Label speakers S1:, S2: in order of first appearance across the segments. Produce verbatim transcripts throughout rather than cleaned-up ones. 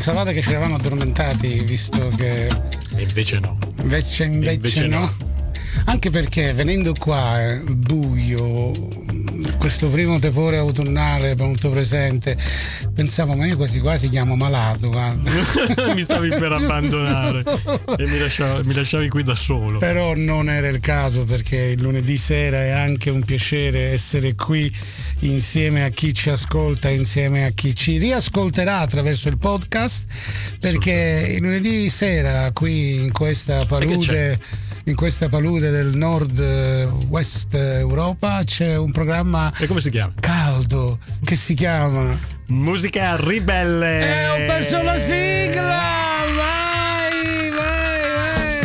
S1: Pensavate che ci eravamo addormentati, visto che
S2: e invece no
S1: invece, invece,
S2: invece no.
S1: no Anche perché venendo qua eh, buio, questo primo tepore autunnale molto presente, pensavo, ma io quasi quasi chiamo malato, guarda.
S2: Mi stavi per abbandonare e mi lasciavi, mi lasciavi qui da solo.
S1: Però non era il caso, perché il lunedì sera è anche un piacere essere qui insieme a chi ci ascolta, insieme a chi ci riascolterà attraverso il podcast, perché il lunedì sera qui in questa palude in questa palude del nord west Europa c'è un programma.
S2: E come si chiama?
S1: Caldo, che si chiama
S2: Musica Ribelle.
S1: E ho perso la sigla. Vai, vai, vai.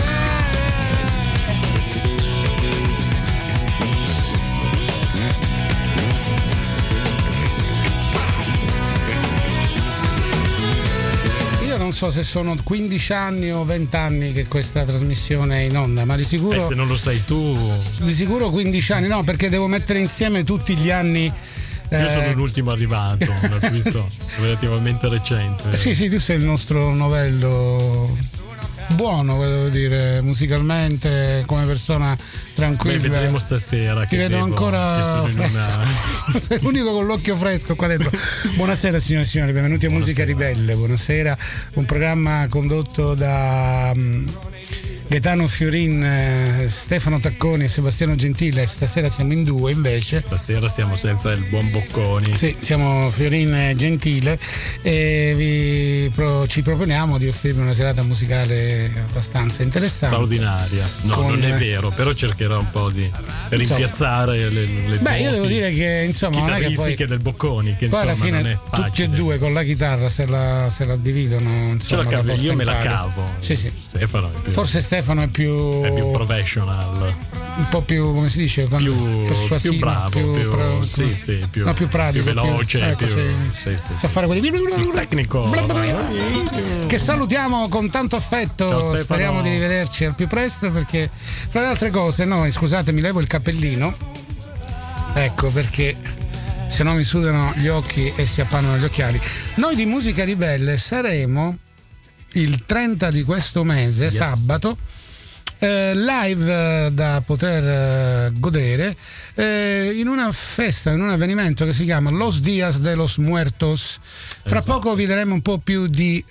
S1: Io non so se sono quindici anni o venti anni che questa trasmissione è in onda, ma di sicuro.
S2: E se non lo sai tu.
S1: Di sicuro quindici anni, no, perché devo mettere insieme tutti gli anni.
S2: Io sono l'ultimo arrivato, un acquisto relativamente recente.
S1: Sì, sì, tu sei il nostro novello buono, devo dire, musicalmente, come persona tranquilla.
S2: Beh, vedremo stasera.
S1: Ti
S2: che
S1: vedo
S2: devo,
S1: ancora
S2: che sono in una...
S1: sei l'unico con l'occhio fresco qua dentro. Buonasera signore e signori, benvenuti a
S2: Buonasera.
S1: Musica Ribelle. Buonasera, un programma condotto da um, Gaetano Fiorin, eh, Stefano Tacconi e Sebastiano Gentile. Stasera siamo in due invece.
S2: Stasera siamo senza il buon Bocconi.
S1: Sì, siamo Fiorin e Gentile e vi pro, ci proponiamo di offrirvi una serata musicale abbastanza interessante.
S2: Straordinaria. No,
S1: Con...
S2: non è vero, però cercherò un po' di rimpiazzare le, le
S1: Beh, io devo
S2: doti
S1: dire che insomma non è che poi,
S2: chitarristiche del Bocconi, che
S1: poi
S2: insomma
S1: alla fine
S2: non è facile.
S1: tutti e due con la chitarra se la, se la dividono, insomma,
S2: Ce la cavo,
S1: la
S2: io me la
S1: impari.
S2: cavo.
S1: Sì, sì.
S2: Stefano è più,
S1: Forse Stefano è più
S2: è più professional,
S1: un po' più, come si dice,
S2: più,
S1: persuasivo,
S2: più bravo, più,
S1: più, pro,
S2: sì, sì, più,
S1: no, più pratico,
S2: più veloce,
S1: più, ecco,
S2: più,
S1: sì.
S2: sì, sì,
S1: sa fare quelli
S2: più tecnico.
S1: che salutiamo con tanto affetto.
S2: Ciao,
S1: speriamo di rivederci al più presto, perché fra le altre cose noi, scusate, mi levo il cappellino, ecco, perché se no mi sudano gli occhi e si appannano gli occhiali. Noi di Musica Ribelle saremo il trenta di questo mese,
S2: yes.
S1: sabato, eh, live eh, da poter eh, godere eh, in una festa, in un avvenimento che si chiama Los Días de los Muertos. Fra
S2: esatto.
S1: poco vi daremo un po' più di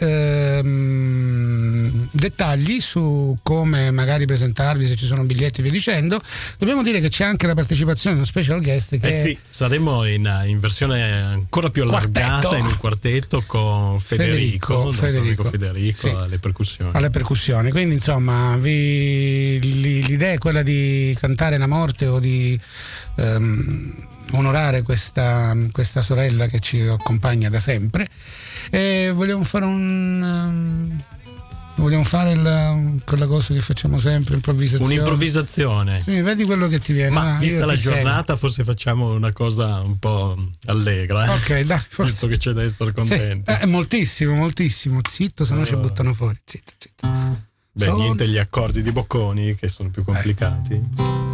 S1: ehm, dettagli su come magari presentarvi, se ci sono biglietti e via dicendo. Dobbiamo dire che c'è anche la partecipazione di uno special guest che
S2: eh sì, saremo in, in versione ancora più allargata,
S1: quartetto.
S2: in un quartetto con Federico,
S1: Federico,
S2: il nostro
S1: Federico,
S2: amico Federico,
S1: sì.
S2: alle percussioni.
S1: alle percussioni, quindi insomma vi, l'idea è quella di cantare la morte o di ehm, onorare questa, questa sorella che ci accompagna da sempre, e vogliamo fare un um, vogliamo fare la, quella cosa che facciamo sempre, improvvisazione.
S2: Un'improvvisazione.
S1: Sì, vedi quello che ti viene.
S2: Ma
S1: ah,
S2: vista la
S1: ti
S2: giornata, forse facciamo una cosa un po' allegra. Eh?
S1: Ok, dai, forse.
S2: Visto che c'è da essere contenti.
S1: Sì, eh, moltissimo, moltissimo. Zitto, se no
S2: allora.
S1: ci buttano fuori. Zitto, zitto.
S2: Beh,
S1: Sono...
S2: niente gli accordi di Bocconi che sono più complicati.
S1: Eh.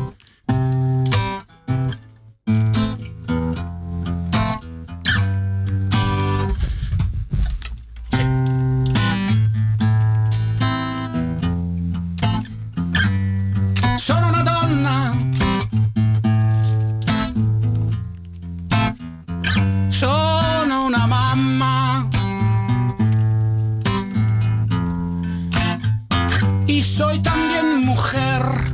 S1: Sono una donna, sono una mamma, y soy también mujer.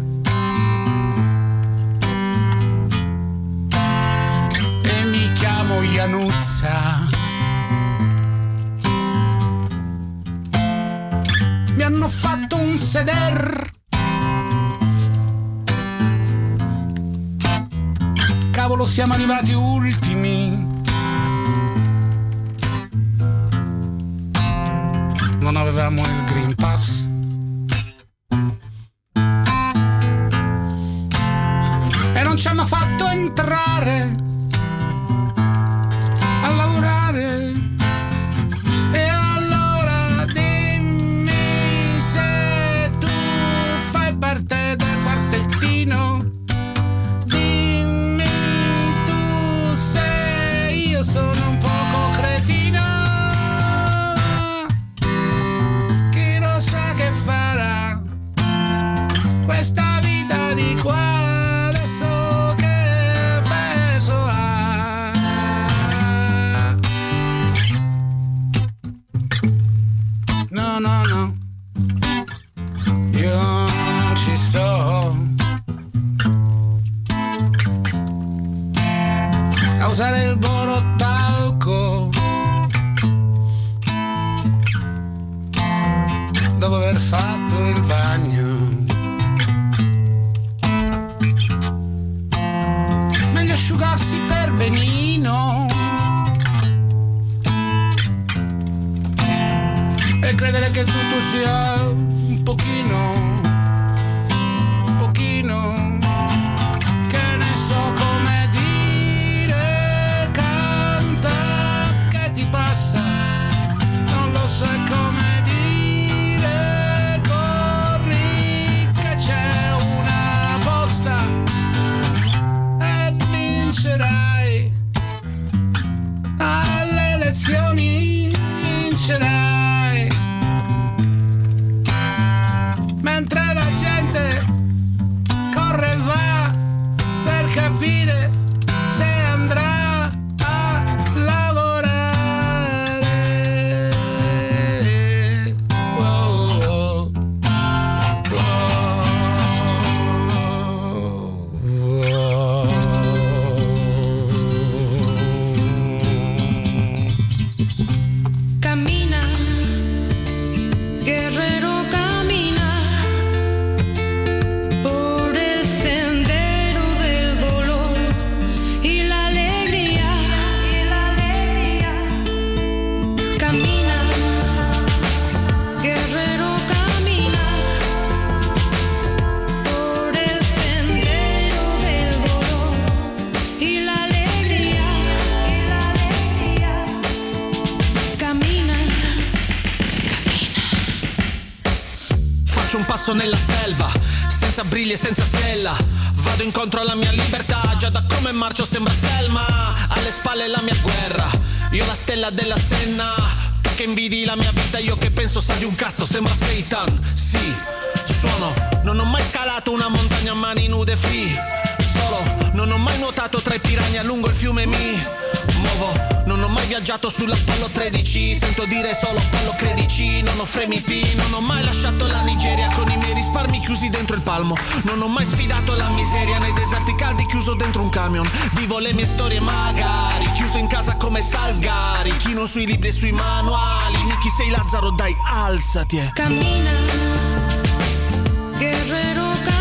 S1: E mi chiamo Iannuzza. Mi hanno fatto un seder. Cavolo, siamo arrivati ultimi. Non avevamo il Green Pass. E non ci hanno fatto entrare a lavorare. E allora dimmi se tu fai parte del quartettino. Dimmi tu se io sono un poco cretino. questa vita di qua adesso che peso ha. No, no, no, io non ci sto a usare il borotalco dopo aver fatto il bagno. Meglio asciugarsi per benino e credere che tutto sia un pochino, un pochino, che ne so come dire, canta che ti passa, non lo so come dire, corri che c'è una posta e vincerai alle elezioni, vincerai. Mentre la gente corre e va per capire se andrà a lavorare. Wow, wow, wow.
S3: Camina, guerrero.
S4: Un passo nella selva, senza briglie, senza sella. Vado incontro alla mia libertà, già da come marcio sembra Selma. Alle spalle la mia guerra, io la stella della Senna. Tu che invidi la mia vita, io che penso sa di un cazzo, sembra Satan. Sì, suono, non ho mai scalato una montagna a mani nude free. Solo, non ho mai nuotato tra i piranha lungo il fiume Mi muovo, non ho mai viaggiato sull'Apollo tredici. Sento dire solo Apollo credici, non ho fremiti. Non ho mai lasciato la Nigeria con i miei risparmi chiusi dentro il palmo. Non ho mai sfidato la miseria nei deserti caldi chiuso dentro un camion. Vivo le mie storie magari, chiuso in casa come Salgari. Chino sui libri e sui manuali. Miki sei Lazzaro, dai alzati eh.
S3: Cammina, guerrero.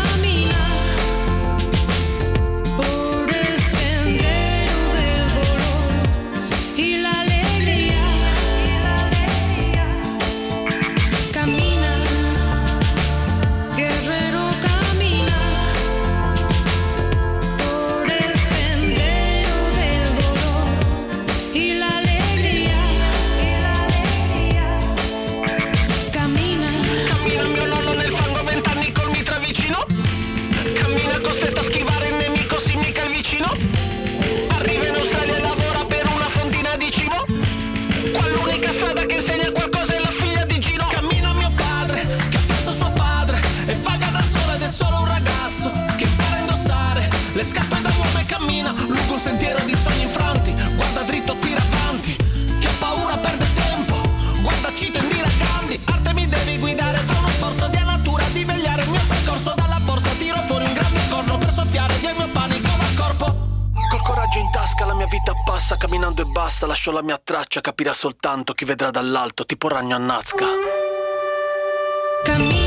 S4: Lungo un sentiero di sogni infranti, guarda dritto, tira avanti. Chi ha paura perde tempo, guarda cito Indira Gandhi. Arte mi devi guidare, fa uno sforzo di natura di vegliare il mio percorso dalla borsa. Tiro fuori un grande corno per soffiare via il mio panico dal corpo. Col coraggio in tasca la mia vita passa, camminando e basta, lascio la mia traccia, capirà soltanto chi vedrà dall'alto, tipo ragno a Nazca.
S3: Cammina.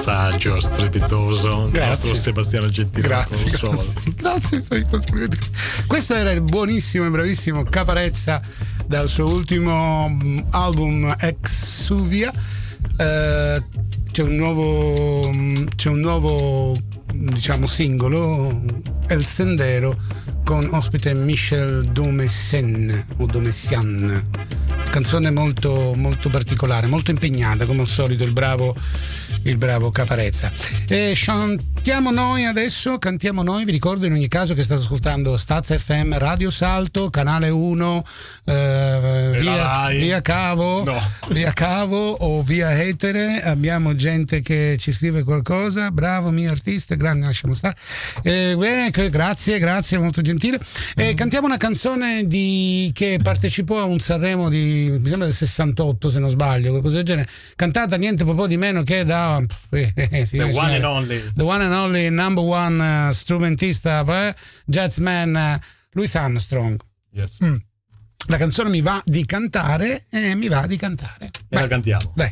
S2: saggio, strepitoso, il nostro Sebastiano Gentile.
S1: Grazie, grazie, grazie. Questo era il buonissimo e bravissimo Caparezza dal suo ultimo album Exuvia. Uh, c'è un nuovo c'è un nuovo diciamo singolo, El Sendero, con ospite Michel Domessian o Domessian. Canzone molto molto particolare, molto impegnata come al solito il bravo il bravo Caparezza. E cantiamo noi adesso, cantiamo noi, vi ricordo in ogni caso che state ascoltando Staz F M, Radio Salto, canale uno, eh, via, via Cavo, no. via Cavo o via Etere. Abbiamo gente che ci scrive qualcosa, bravo mio artista, grande, lasciamo stare. Eh, beh, grazie, grazie, molto gentile. E cantiamo una canzone di che partecipò a un Sanremo di, mi sembra del sessantotto se non sbaglio, qualcosa del genere, cantata niente po' di meno che da Eh, eh, sì,
S2: the
S1: sì,
S2: one and only
S1: the one and only number one uh, strumentista eh, jazzman uh, Louis Armstrong.
S2: Yes.
S1: Mm. La canzone mi va di cantare e eh, mi va di cantare.
S2: E Vai. La cantiamo.
S1: Dai.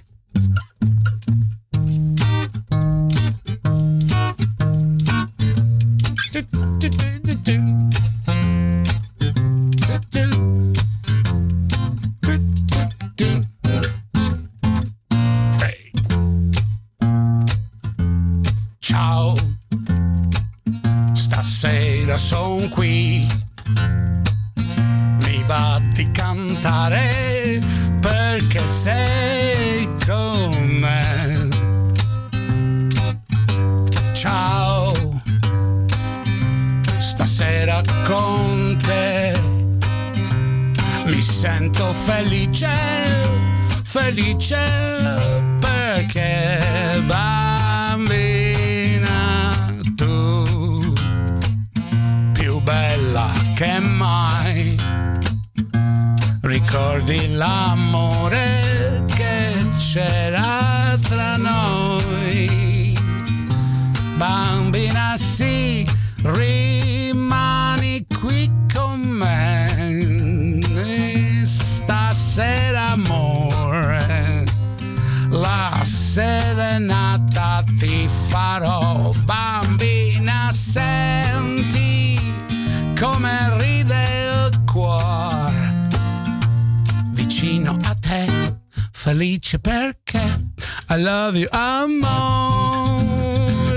S1: Ciao, stasera son qui, mi va di cantare perché sei con me. Ciao, stasera con te mi sento felice, felice perché bambina tu, più bella che mai, ricordi l'amore che c'era tra noi, bambina sì, rimani qui con me, stasera amore, la serenata ti farò, bambina senti come ride il cuore, vicino a te, felice perché I love you amore.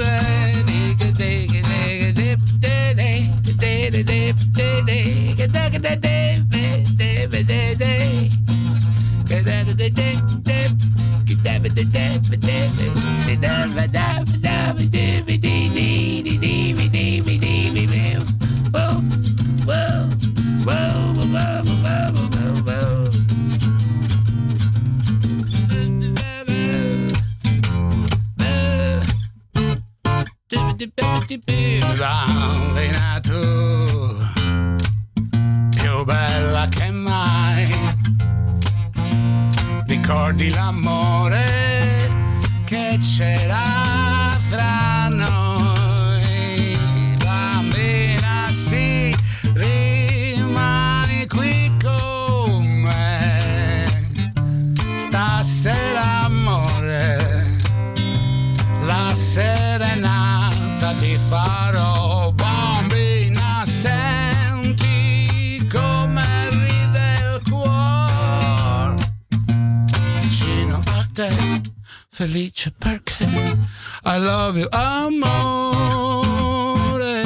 S1: Bambina tu, più bella che mai, ricordi l'amore che c'era tra noi, bambina sì, rimani qui con me, stasera amore, la serenata ti farò, bambina senti come ride il cuore, vicino a te, felice perché I love you amore.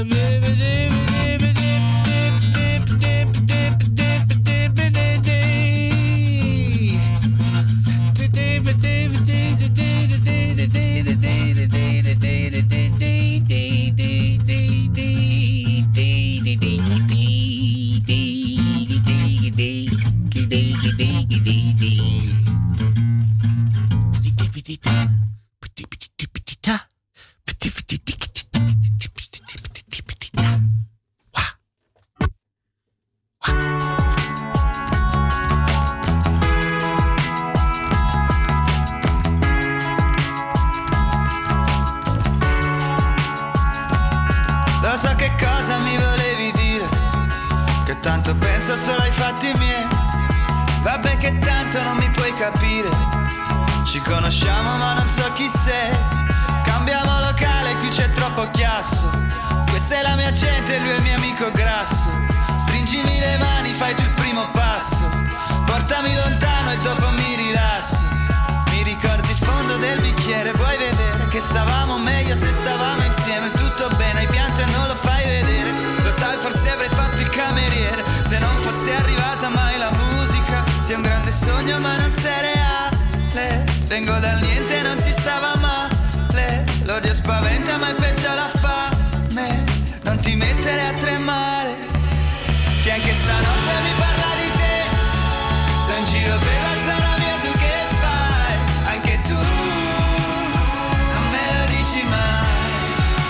S3: Lo so che cosa mi volevi dire, che tanto penso solo ai fatti miei. Vabbè che tanto non mi puoi capire, ci conosciamo ma non so chi sei. Cambiamo locale, qui c'è troppo chiasso. Questa è la mia gente, lui è il mio amico grasso. Stringimi le mani, fai tu il primo passo. Portami lontano e dopo mi rilasso. Mi ricordi il fondo del bicchiere, vuoi vedere che stavamo meglio se stavamo insieme. Tutto bene, hai pianto e non lo fai vedere. Lo sai, forse avrei fatto il cameriere se non fosse arrivata mai la musica. Sei un grande sogno ma non sei reale. Vengo dal niente e non si stava male. L'odio spaventa ma è peggio la fame. Non ti mettere a tremare, che anche stanotte mi parla di te. Sto in giro per la zona mia, tu che fai? Anche tu non me lo dici mai.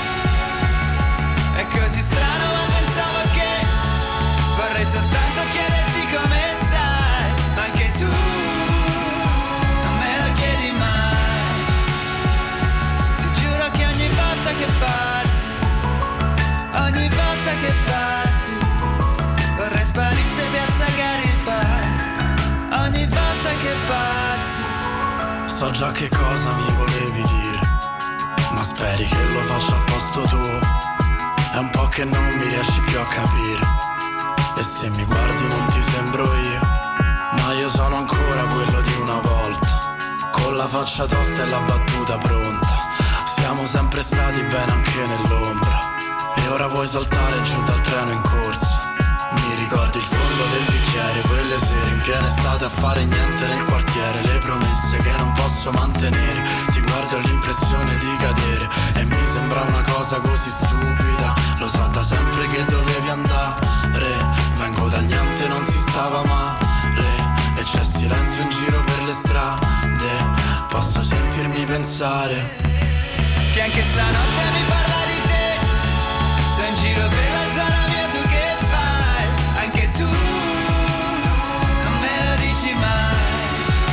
S3: È così strano ma pensavo che vorrei soltanto chiederti come stai. Ma anche tu non me lo chiedi mai. Ti giuro che ogni volta che parti, ogni volta che parti, vorrei sparisse piazza Garibaldi. Ogni volta che parti.
S5: So già che cosa mi volevi dire, ma speri che lo faccia al posto tuo. È un po' che non mi riesci più a capire, e se mi guardi non ti sembro io. Ma io sono ancora quello di una volta, con la faccia tosta e la battuta pronta. Siamo sempre stati bene anche nell'ombra, e ora vuoi saltare giù dal treno in corsa. Mi ricordi il fondo del bicchiere, quelle sere in piena estate a fare niente nel quartiere. Le promesse che non posso mantenere, ti guardo e ho l'impressione di cadere. E mi sembra una cosa così stupida, lo so da sempre che dovevi andare. Vengo dal niente, non si stava male, e c'è silenzio in giro per le strade. Posso sentirmi pensare
S3: che anche stanotte mi parla di te. Sto in giro per la zona mia, tu che fai? Anche tu non me lo dici mai.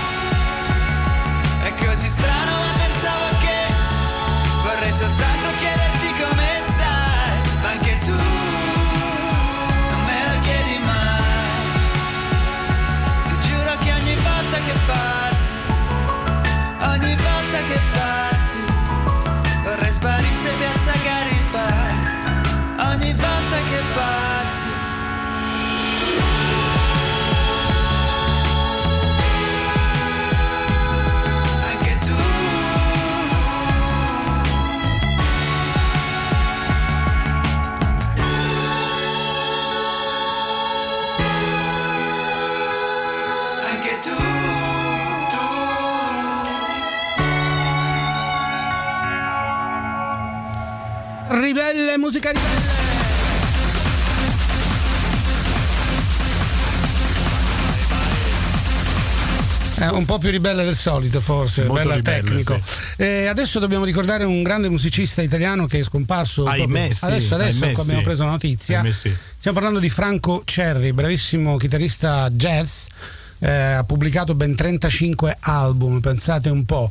S3: È così strano ma pensavo che vorrei soltanto chiederti come stai. Ma anche tu non me lo chiedi mai. Ti giuro che ogni volta che parti, ogni volta che parti, vorrei sparisse piazza Garibaldi. Ogni volta che parti. Anche tu. Anche tu.
S1: Ribelle, musica ribelle. È un po' più ribelle del solito, forse,
S2: molto
S1: bella
S2: ribelle,
S1: tecnico.
S2: Sì.
S1: E adesso dobbiamo ricordare un grande musicista italiano che è scomparso.
S2: Ahimè, sì,
S1: adesso, adesso
S2: ahimè,
S1: abbiamo
S2: sì.
S1: preso la notizia.
S2: Ahimè, sì.
S1: Stiamo parlando di Franco Cerri, bravissimo chitarrista jazz. Eh, ha pubblicato ben trentacinque album, pensate un po'.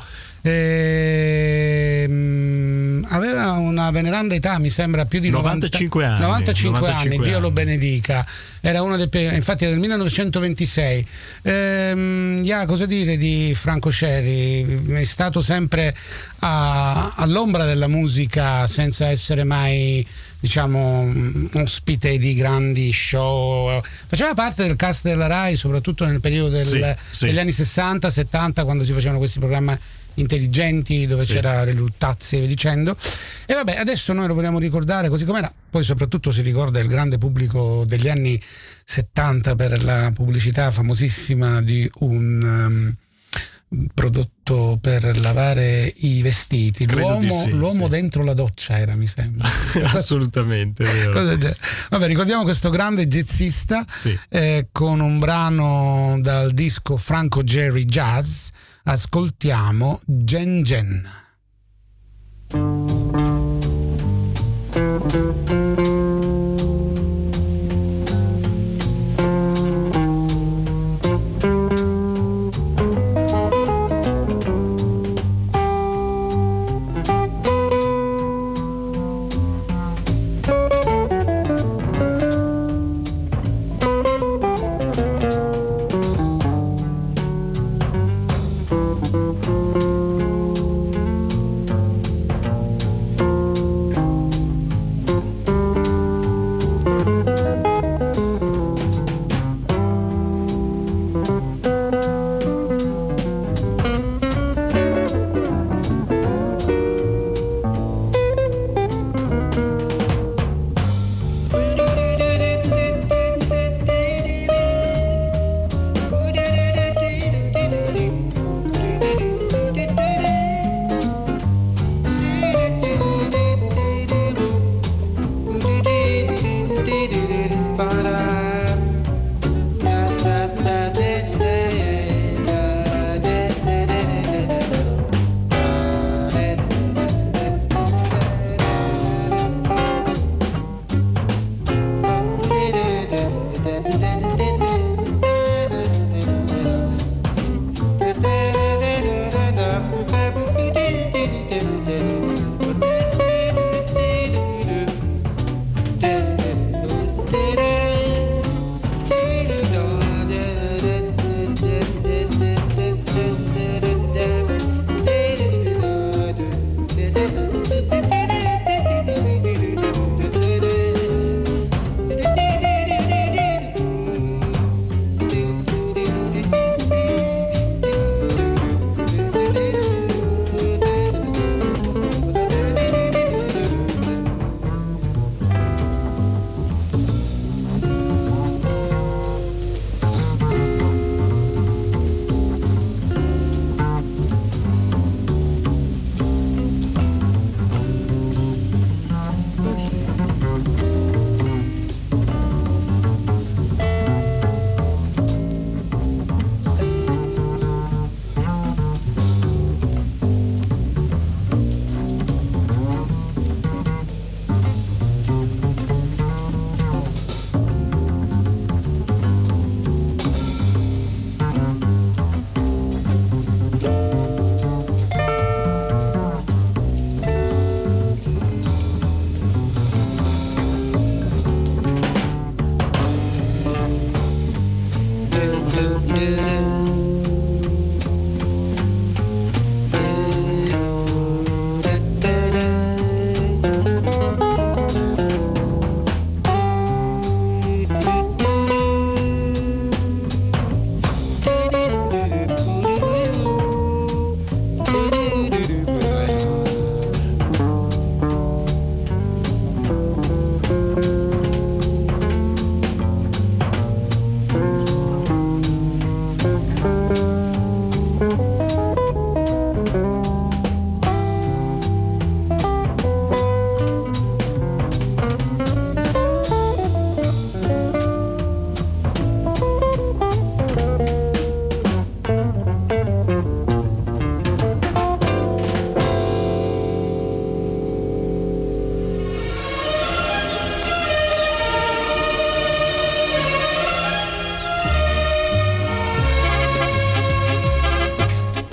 S1: E, mh, aveva una veneranda età, mi sembra più di
S2: novantacinque anni.
S1: novantacinque,
S2: novantacinque
S1: anni, Dio
S2: anni.
S1: lo benedica. Era uno dei, infatti era del millenovecentoventisei. Ehm, yeah, cosa dire di Franco Cerri? È stato sempre a, all'ombra della musica, senza essere mai, diciamo, ospite di grandi show. Faceva parte del cast della Rai, soprattutto nel periodo del,
S2: sì, sì.
S1: degli anni sessanta settanta, quando si facevano questi programmi intelligenti dove
S2: sì.
S1: c'era le luttazze e via dicendo. E vabbè, adesso noi lo vogliamo ricordare così com'era. Poi soprattutto si ricorda il grande pubblico degli anni settanta per la pubblicità famosissima di un um, prodotto per lavare i vestiti.
S2: Credo di
S1: L'uomo,
S2: sì,
S1: l'uomo
S2: sì.
S1: dentro la doccia era, mi sembra.
S2: Assolutamente vero.
S1: Cosa del genere. Vabbè, ricordiamo questo grande jazzista,
S2: Sì.
S1: eh, con un brano dal disco Franco Cerri Jazz. Ascoltiamo Gen Gen.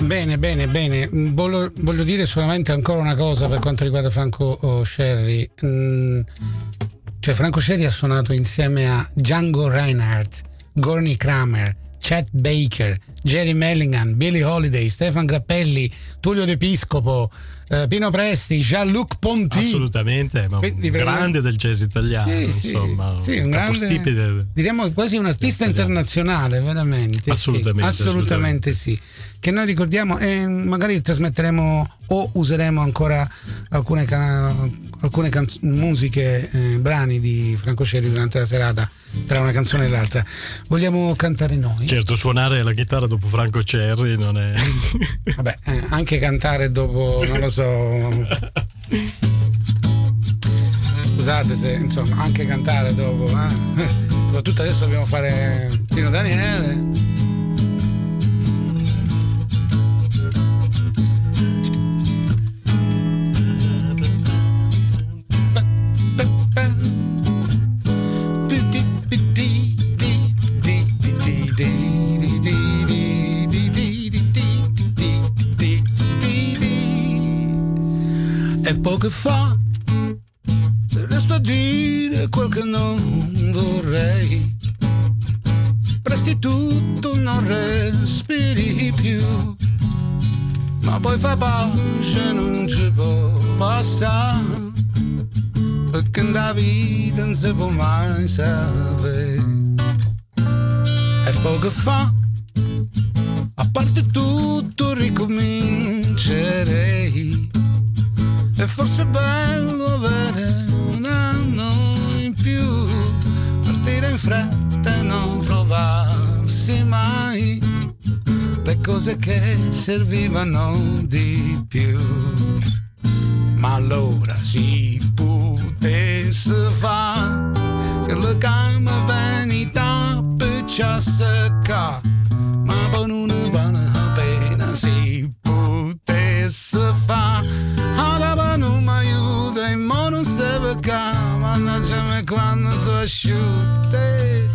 S1: Bene, bene, bene. Voglio, voglio dire solamente ancora una cosa per quanto riguarda Franco Scerri. Mm, cioè Franco Scerri ha suonato insieme a Django Reinhardt, Gorny Kramer, Chet Baker, Jerry Mulligan, Billie Holiday, Stefan Grappelli, Tullio De Piscopo, eh, Pino Presti, Jean-Luc Ponty.
S2: Assolutamente, ma un Quindi, grande del jazz italiano,
S1: sì,
S2: insomma,
S1: sì, un grande,
S2: del,
S1: diremmo quasi un artista internazionale, veramente.
S2: Assolutamente,
S1: sì, assolutamente, assolutamente sì. Che noi ricordiamo e magari trasmetteremo o useremo ancora alcune, can- alcune can- musiche, eh, brani di Franco Scerri durante la serata, tra una canzone e l'altra. Vogliamo cantare noi?
S2: Certo, suonare la chitarra dopo Franco Scerri non è...
S1: Vabbè, eh, anche cantare dopo, non lo so... Scusate se, insomma, anche cantare dopo, eh? Soprattutto adesso dobbiamo fare Pino Daniele. E poco fa resto a dire quel che non vorrei. Presti tutto, non respiri più, ma poi fa pace, non ci può passare, perché nella vita non si può mai sapere. E poco fa, a parte tutto, ricomincerei. E forse è bello avere un anno in più, partire in fretta e non trovarsi mai le cose che servivano di più. Ma allora si potesse fare che le calme venita per ciasca, ma poi non vale la pena si potesse fare. Non mi aiuta e mo non si perché, mannaggia me quando sono asciutte.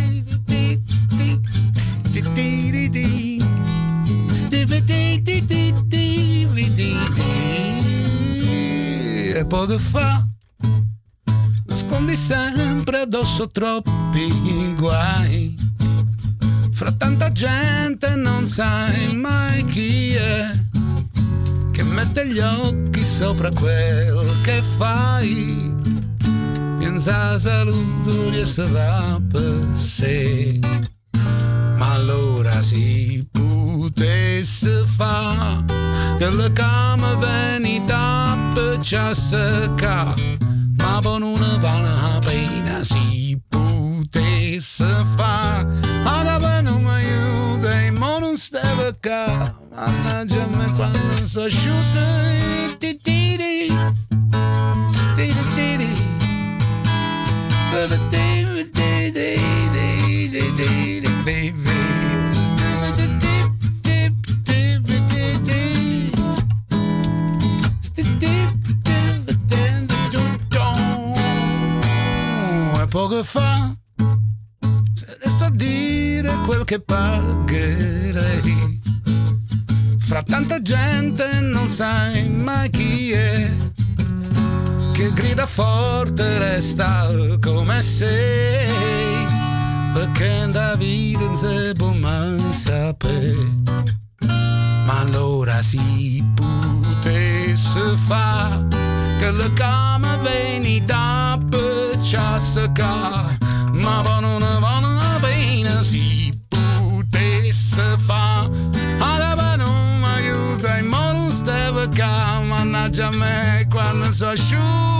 S1: E poco fa nascondi sempre addosso troppi guai, fra tanta gente non sai mai chi è che mette gli occhi sopra quel che fai. Pensa a saluto resterà per sé, ma allora si potesse fa che le came venita per ciasca, ma poi non vale la pena si potesse fa. Ora non mi aiuta e mo non stava qua, mannaggia me quando sono asciutta. E poco fa se resto a dire quel che pagherei, fra tanta gente non sai mai chi è che grida forte resta come sei, perché da vita non si può mai sapere. Ma allora si potesse fa che le came venita per ciasca, ma poi non vale la pena si potesse fa. Allora non mi aiuta e mo non stava qua, mannaggia me quando sono asciutti.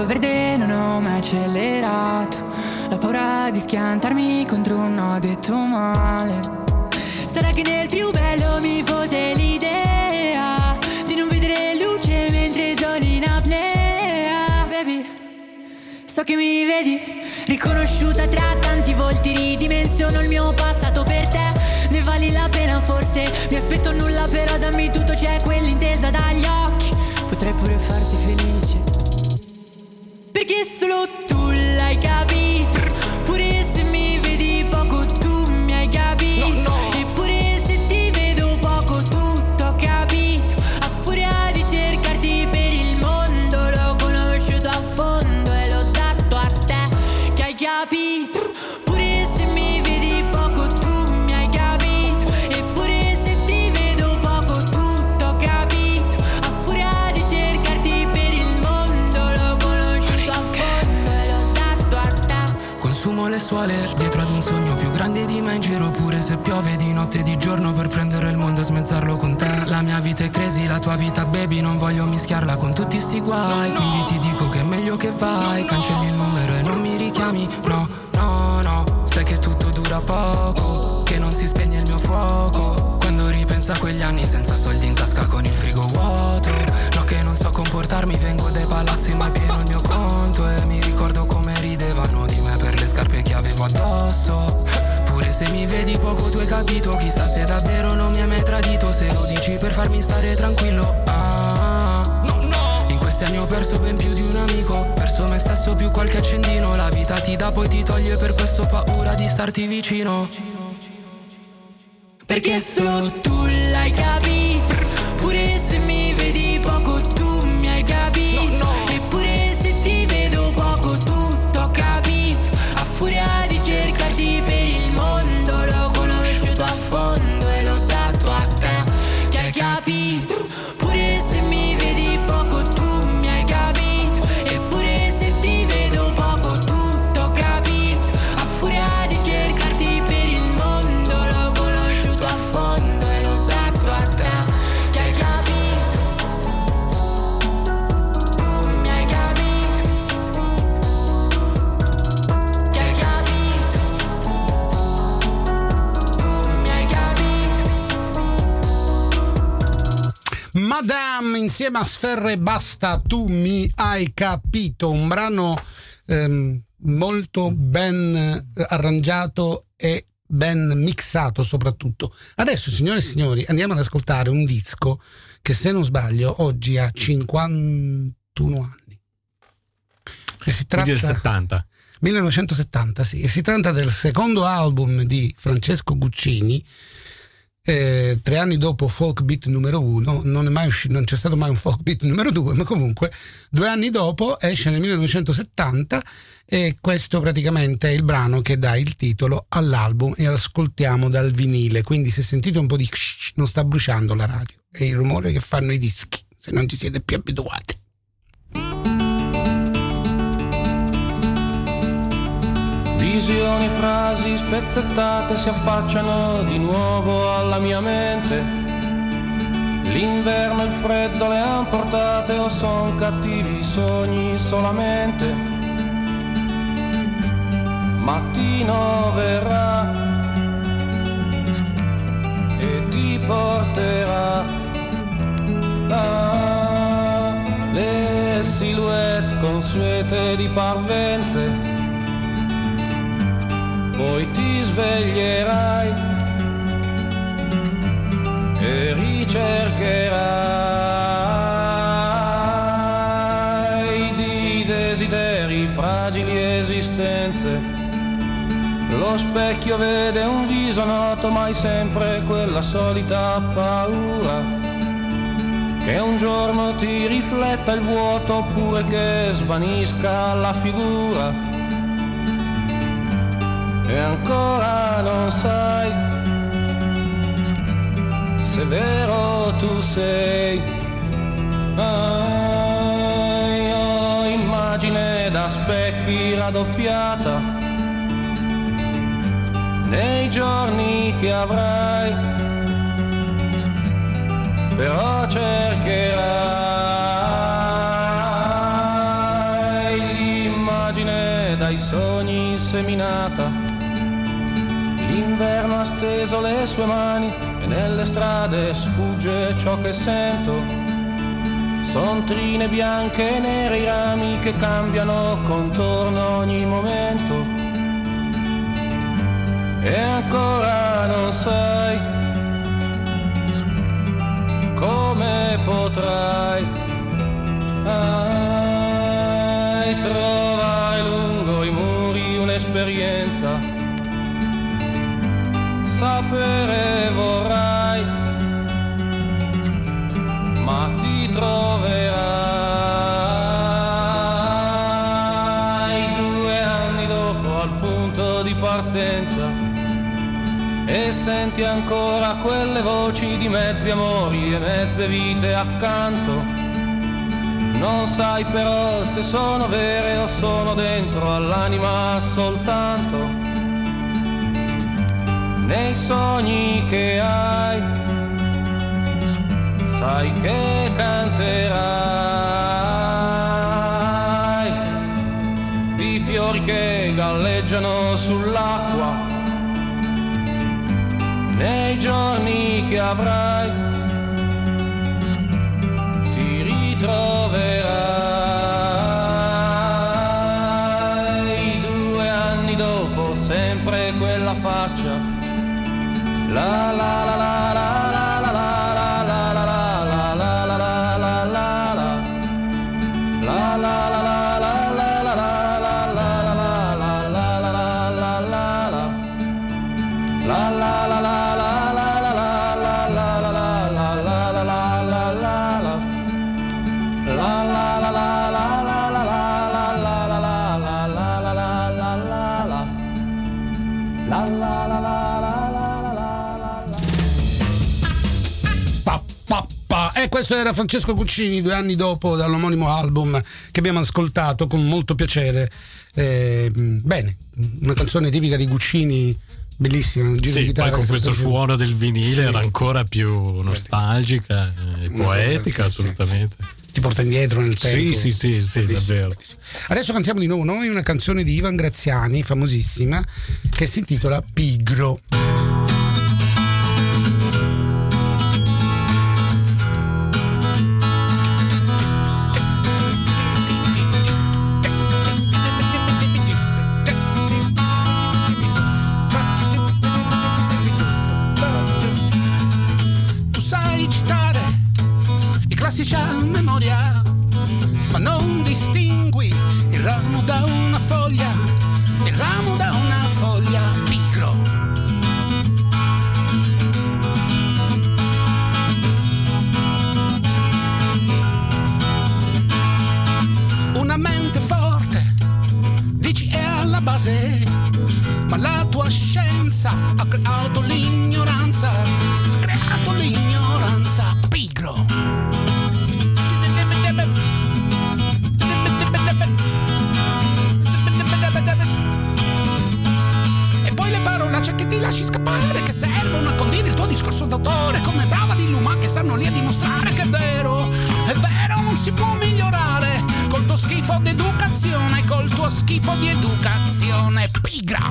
S6: semaforo verde non ho mai accelerato. La paura di schiantarmi contro un no detto male. Sarà che nel più bello mi fotte l'idea di non vedere luce mentre sono in apnea. Baby, so che mi vedi, riconosciuta tra tanti volti, ridimensiono il mio passato per te. Ne vali la pena forse, mi aspetto nulla però dammi tutto, c'è quell'intesa dagli occhi. Potrei pure farti felice, perché solo tu l'hai capito. Pure se mi vedi poco tu mi hai capito. No, no. Eppure se ti vedo poco tutto ho capito. A furia di cercarti per il mondo l'ho conosciuto a fondo e l'ho dato a te che hai capito. Pure se mi vedi poco tu mi hai capito. Eppure se ti vedo poco tutto ho capito. A furia di cercarti per il mondo l'ho conosciuto a fondo e l'ho dato a te.
S7: Consumo le suole dietro ad un sogno più grande di me, in giro pure se piove di notte e di giorno per prendere il mondo e smezzarlo con te. La mia vita è crazy, la tua vita baby, non voglio mischiarla con tutti sti guai. No, no. Quindi ti dico che è meglio che vai, no, no. Cancelli il numero e non mi richiami. No, no, no, sai che tutto dura poco, che non si spegne il mio fuoco. Quando ripenso a quegli anni senza soldi in tasca con il frigo vuoto. No, che non so comportarmi, vengo dai palazzi ma è pieno il mio conto. E mi ricordo come ridevano di me per le scarpe che avevo addosso. Pure se mi vedi poco tu hai capito, chissà se davvero non mi hai mai tradito. Se lo dici per farmi stare tranquillo. Ah, no, no. In questi anni ho perso ben più di un amico, perso me stesso più qualche accendino. La vita ti dà poi ti toglie, per questo ho paura di starti vicino,
S6: perché solo tu l'hai capito. Pure se mi vedi poco tu mi hai capito. No, no. Eppure se ti vedo poco tutto ho capito. A furia di cercarti per il mondo l'ho conosciuto a fondo e l'ho dato a te che hai capito. Pure se mi vedi poco tu mi hai capito. Eppure se ti vedo poco tutto ho capito. A furia di cercarti per il mondo l'ho conosciuto a fondo e l'ho dato a te che hai capito. Tu mi hai capito. Che hai capito. Tu mi hai capito.
S1: Madame insieme a Sferre Basta, tu mi hai capito, un brano ehm, molto ben arrangiato e ben mixato soprattutto. Adesso, signore e signori, andiamo ad ascoltare un disco che, se non sbaglio, oggi ha cinquantuno anni. E si tratta
S2: del settanta.
S1: millenovecentosettanta, sì. E si tratta del secondo album di Francesco Guccini. Eh, tre anni dopo Folk Beat numero uno, non è mai uscito, non c'è stato mai un Folk Beat numero due, ma comunque due anni dopo esce nel millenovecentosettanta, e questo praticamente è il brano che dà il titolo all'album e ascoltiamo dal vinile. Quindi se sentite un po' di shh, non sta bruciando la radio, è il rumore che fanno i dischi, se non ci siete più abituati.
S8: Visioni, frasi spezzettate si affacciano di nuovo alla mia mente. L'inverno e il freddo le han portate, o son cattivi sogni solamente. Mattino verrà e ti porterà ah, le silhouette consuete di parvenze. Poi ti sveglierai e ricercherai di desideri fragili esistenze. Lo specchio vede un viso noto, ma hai sempre quella solita paura che un giorno ti rifletta il vuoto, oppure che svanisca la figura. E ancora non sai se vero tu sei. Ah, io immagine da specchi raddoppiata nei giorni che avrai, però cercherai seminata. L'inverno ha steso le sue mani e nelle strade sfugge ciò che sento. Son trine bianche e nere i rami che cambiano contorno ogni momento. E ancora non sai come potrai ai, trovare lungo i muri un'esperienza. Sapere vorrai, ma ti troverai due anni dopo al punto di partenza. E senti ancora quelle voci di mezzi amori e mezze vite accanto. Non sai però se sono vere o sono dentro all'anima soltanto. Nei sogni che hai, sai che canterai di fiori che galleggiano sull'acqua. Nei giorni che avrai ti ritroverai due anni dopo sempre quella faccia. La la la la la la la la la la la la la la la la la la la
S1: E questo era Francesco Guccini, due anni dopo, dall'omonimo album che abbiamo ascoltato con molto piacere. Eh, bene, una canzone tipica di Guccini, bellissima. Un giro
S2: sì,
S1: di chitarra
S2: poi con questo suono del vinile sì. Era ancora più nostalgica e poetica, sì, assolutamente.
S1: Sì, sì. Ti porta indietro nel tempo.
S2: Sì, sì, sì, sì, davvero.
S1: Adesso cantiamo di nuovo noi una canzone di Ivan Graziani, famosissima, che si intitola Pigro.
S9: A memoria, ma non distingui il ramo da una foglia, il ramo da una foglia. Pigro. Una mente forte, dici è alla base, ma la tua scienza ha creato l'ignoranza, ha creato l'ignoranza. Pigro. E poi le parolacce che ti lasci scappare, che servono a condire il tuo discorso d'autore, come brava di Luma che stanno lì a dimostrare che è vero, è vero, non si può migliorare col tuo schifo d'educazione, col tuo schifo di educazione pigra.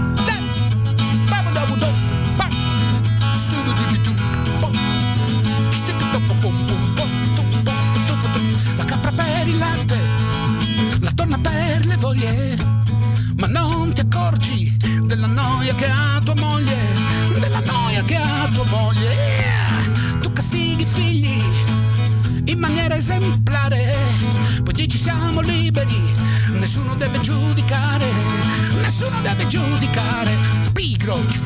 S9: La capra per il latte, la donna per le voglie, ma non ti accorgi della noia che ha tua moglie, della noia che ha tua moglie. Tu castighi i figli in maniera esemplare, poi dici siamo liberi, nessuno deve giudicare, nessuno deve giudicare. Pigro.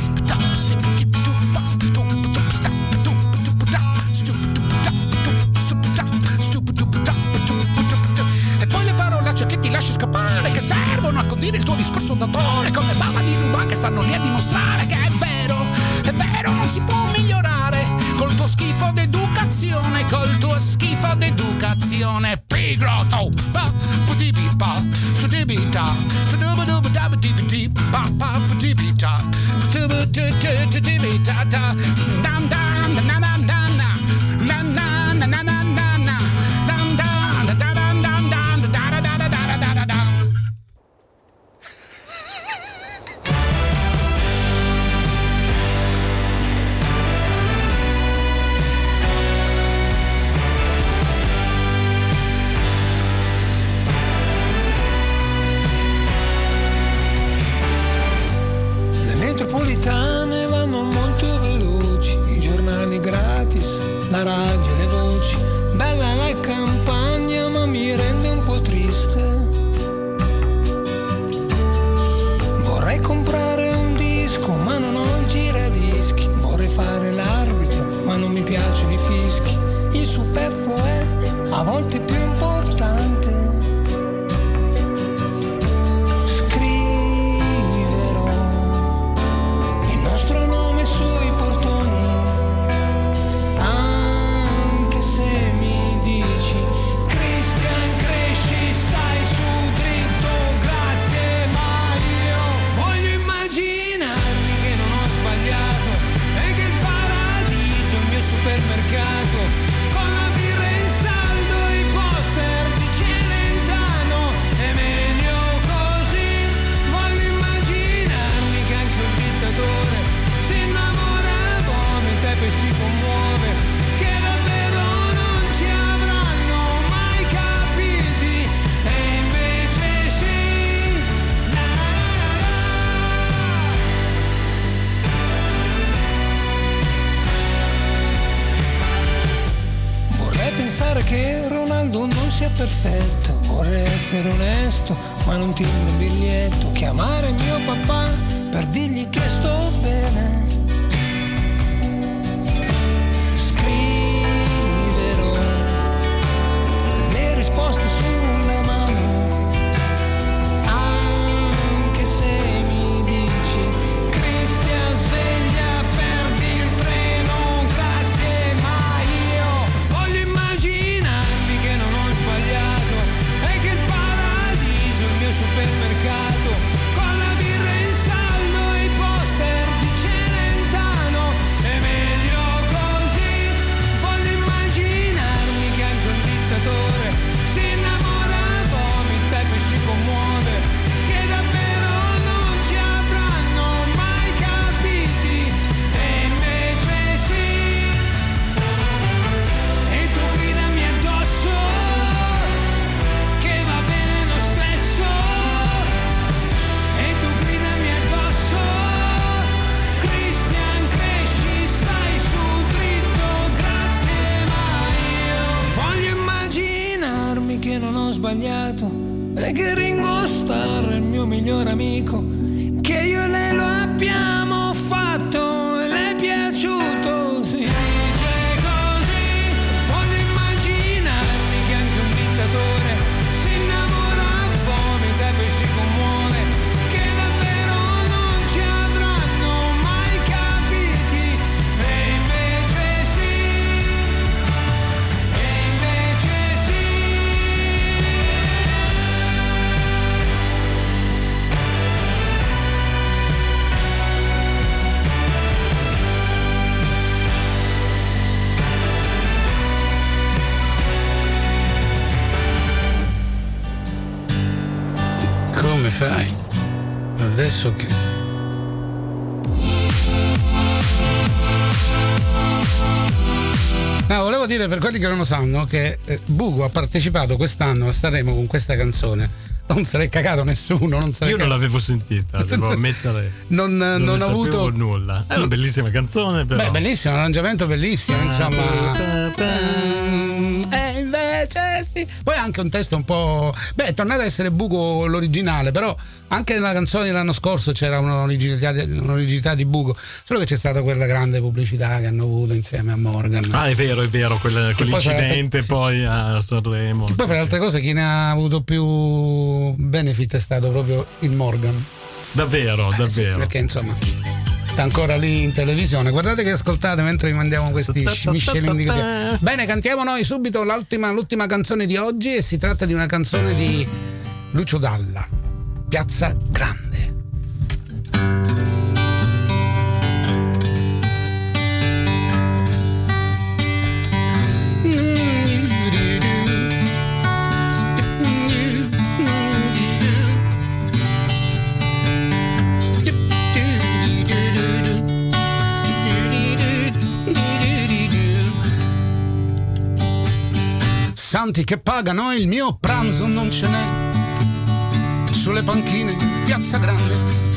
S9: Lasci scappare, che servono a condire il tuo discorso d'autore, come bava di Luma che stanno lì a dimostrare che è vero, è vero, non si può migliorare col tuo schifo d'educazione, col tuo schifo d'educazione. Pigro. Oh, pa, putibita, stupidita, stupidita, pa, pa, putibita, stupidita, dam dam na na na na na na na na na.
S10: piacciono i fischi, il superfluo è a volte più importante. Scriverò il nostro nome sui portoni, anche se mi dici Christian cresci, stai su dritto, grazie, ma io voglio immaginarmi che non ho sbagliato e che il paradiso è il mio supermercato, con la birra in saldo e i poster di Celentano, è meglio così. Voglio immaginarmi che anche un dittatore si innamora, vomita e poi si commuove, che davvero non ci avranno mai capiti, e invece sì. La, la, la, la. Vorrei pensare che Ronaldo non sia perfetto, vorrei essere onesto, ma non tiro un biglietto, chiamare mio papà per dirgli che sto bene. Scriverò le risposte sulla mano, anche se mi dici Cristian sveglia, perdi il treno, grazie, ma io voglio immaginarmi che non ho sbagliato e che il paradiso è il mio supermercato, con la birra in saldo e i poster di Celentano, è meglio così. Voglio immaginarmi che anche un dittatore si innamora, vomita e poi si commuove, che davvero non ci avranno mai capiti, e invece sì. E tu gridami addosso che va bene lo stesso, e tu gridami addosso Christian cresci, stai su dritto, grazie, ma io voglio immaginarmi che non ho sbagliato e che Ringo Starr è il mio miglior amico, che io e lei lo abbiamo fatto e le è piaciuto, si dice così. Voglio immaginarmi che anche un dittatore si innamora, vomita e poi si commuove, che davvero non ci avranno mai capiti, e invece sì, e invece sì.
S1: Come fai? Adesso che... No, volevo dire per quelli che non lo sanno che eh, Bugo ha partecipato quest'anno a Sanremo con questa canzone. Non se l'è cagato nessuno. Non se l'è
S2: Io non
S1: cagato.
S2: l'avevo sentita, devo ammettere.
S1: Non, non,
S2: non
S1: ho
S2: ne
S1: avuto
S2: sapevo nulla. È una bellissima canzone, però.
S1: Beh, bellissimo, un arrangiamento bellissimo, insomma. E invece sì. Poi anche un testo un po'. Beh, è tornato ad essere Bugo l'originale, però anche nella canzone dell'anno scorso c'era un'originalità, un'originalità di Bugo. Solo che c'è stata quella grande pubblicità che hanno avuto insieme a Morgan.
S2: Ah, è vero, è vero, quella, quell'incidente
S1: poi,
S2: poi a Sanremo.
S1: Poi, fra le altre cose, chi ne ha avuto più benefit è stato proprio il Morgan.
S2: Davvero,
S1: eh,
S2: davvero.
S1: Sì, perché insomma sta ancora lì in televisione. Guardate che ascoltate mentre vi mandiamo questi miscelini così. Bene, cantiamo noi subito l'ultima, l'ultima canzone di oggi, e si tratta di una canzone di Lucio Dalla, Piazza Grande. Santi che pagano, il mio pranzo non ce n'è, sulle panchine Piazza Grande.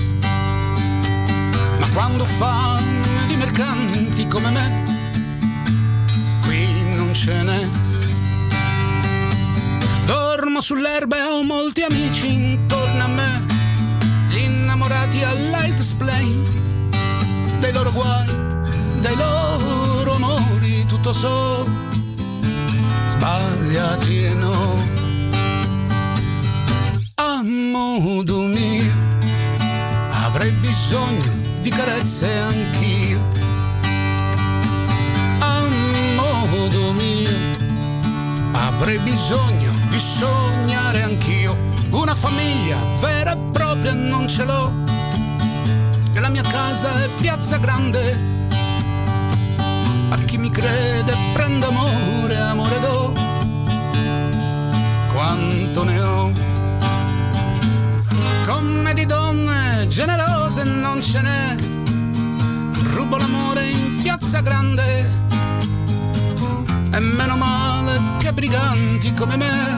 S1: Ma quando fame di mercanti come me, qui non ce n'è. Dormo sull'erba e ho molti amici intorno a me, gli innamorati al light display dei loro guai, dei loro amori, tutti
S9: voluto so, sbagliati e no. A modo mio avrei bisogno di carezze anch'io. A modo mio avrei bisogno di sognare anch'io. Una famiglia vera e propria non ce l'ho, e la mia casa è Piazza Grande. A chi mi crede prendo amore, amore do, quanto ne ho. Come di donne generose non ce n'è, rubo l'amore in Piazza Grande, e meno male che briganti come me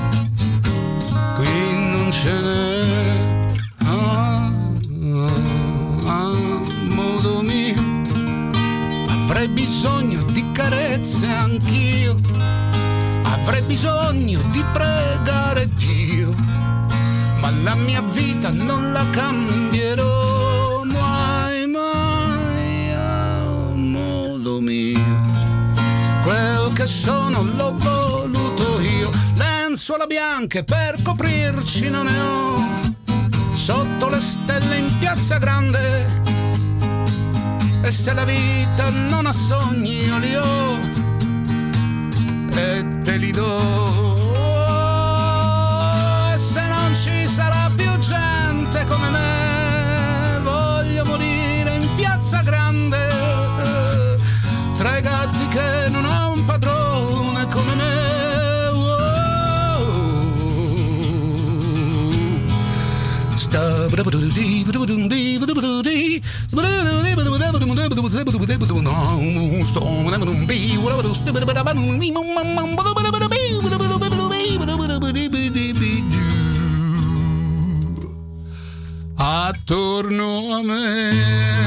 S9: qui non ce n'è. Ah, ah, ah, modo mio avrei bisogno di carezze anch'io, avrei bisogno di pregare Dio, ma la mia vita non la cambierò mai, mai, a modo mio. Quel che sono l'ho voluto io, lenzuola bianche per coprirci non ne ho, sotto le stelle in Piazza Grande, e se la vita non ha sogni io li ho e te li do. Ci sarà più gente come me, voglio morire in Piazza Grande, tra i gatti che non ha un padrone come me. Attorno a me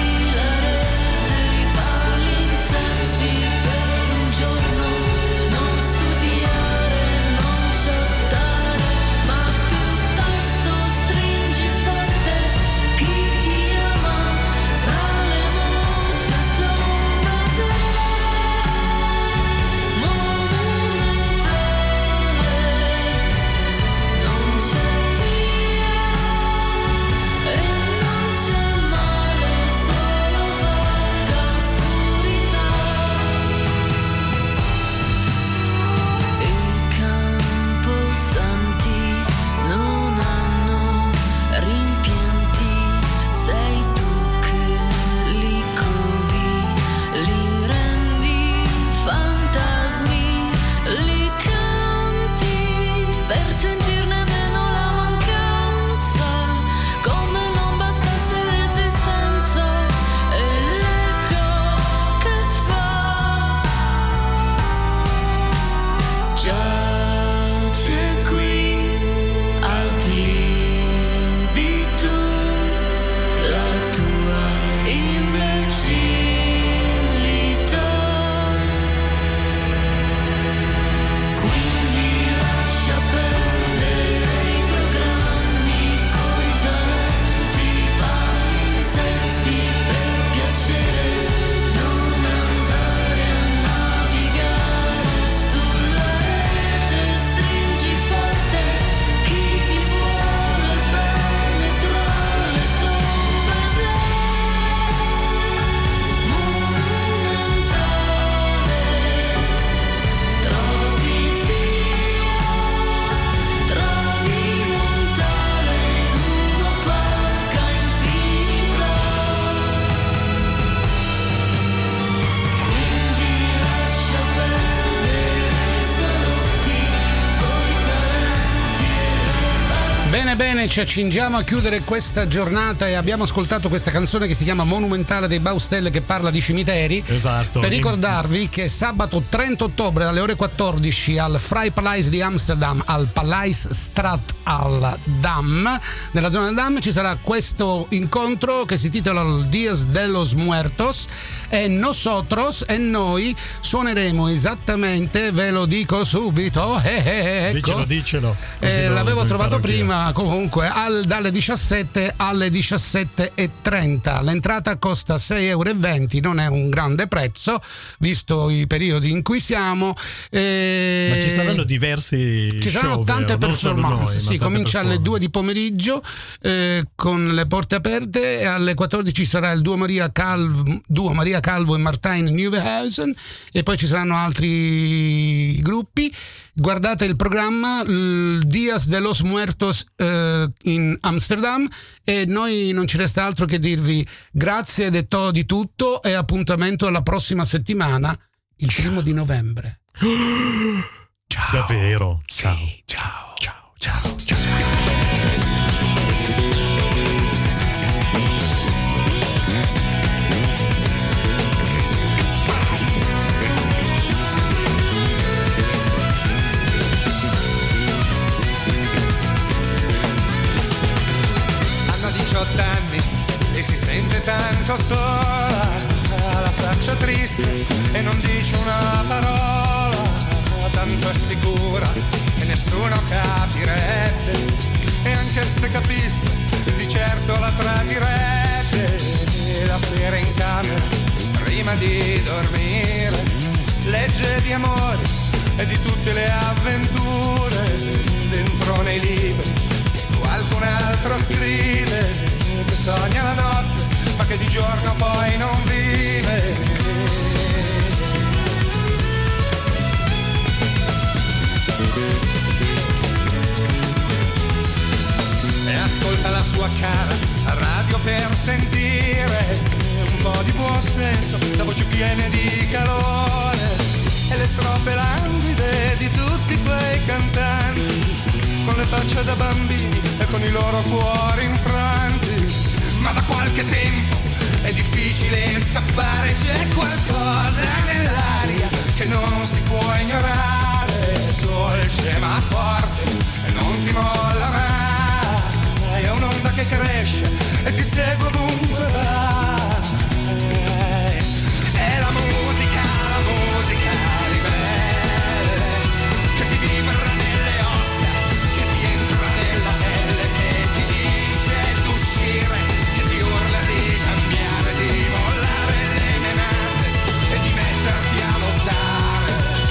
S11: No
S1: Bene, ci accingiamo a chiudere questa giornata e abbiamo ascoltato questa canzone che si chiama Monumentale dei Baustelle, che parla di cimiteri.
S2: Esatto.
S1: Per ricordarvi che sabato trenta ottobre alle ore quattordici al Vrij Paleis di Amsterdam, al Paleisstraat al Dam, nella zona del Dam, ci sarà questo incontro che si titola Dias de los Muertos, e nosotros e noi suoneremo esattamente, ve lo dico subito, eh, eh, ecco.
S2: Dicelo, dicelo.
S1: Eh,
S2: lo,
S1: l'avevo
S2: lo
S1: trovato prima,
S2: anch'io.
S1: comunque al, dalle diciassette alle diciassette e trenta. L'entrata costa sei euro e venti, non è un grande prezzo visto i periodi in cui siamo. Eh,
S2: Ma ci saranno diversi
S1: ci saranno
S2: show,
S1: tante
S2: vero?
S1: performance,
S2: Noi,
S1: sì, comincia alle due di pomeriggio eh, con le porte aperte, e alle quattordici sarà il duo Maria Calvo, duo Maria Calvo e Martijn Nieuwenhuizen, e poi ci saranno altri gruppi. Guardate il programma, il Dias de los Muertos eh, in Amsterdam, e noi non ci resta altro che dirvi grazie ed è to- di tutto, e appuntamento alla prossima settimana, il primo di novembre.
S2: Ciao. Davvero? Ciao.
S1: Sì, ciao. Ciao. Ciao. Ciao.
S11: diciotto anni e si sente tanto sola, ha la faccia triste e non dice una parola, tanto è sicura che nessuno capirebbe, e anche se capisse di certo la tradirebbe. La sera in camera prima di dormire legge di amore e di tutte le avventure dentro nei libri. Qualcun altro scrive che sogna la notte ma che di giorno poi non vive. E ascolta la sua cara radio per sentire un po' di buon senso, da voci piene di calore, e le strofe languide di tutti quei cantanti con le facce da bambini e con i loro cuori infranti. Ma da qualche tempo è difficile scappare, c'è qualcosa nell'aria che non si può ignorare, dolce ma forte e non ti molla mai, è un'onda che cresce e ti segue ovunque vai. È la musica, la musica ribelle che ti vibra nelle ossa, che ti entra nella pelle, che ti dice d'uscire, che ti urla di cambiare, di mollare le menate e di metterti a lottare.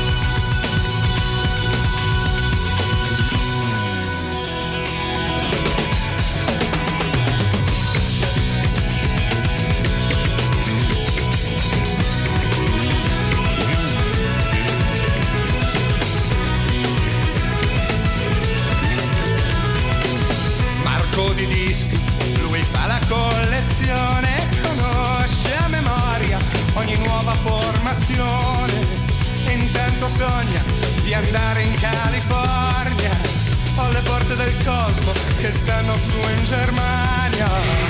S11: Di dischi, lui fa la collezione, conosce a memoria ogni nuova formazione, e intanto sogna di andare in California, o le porte del cosmo che stanno su in Germania.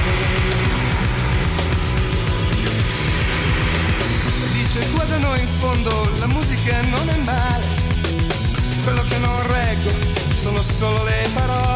S11: Dice qua da noi in fondo la musica non è male, quello che non reggo sono solo le parole.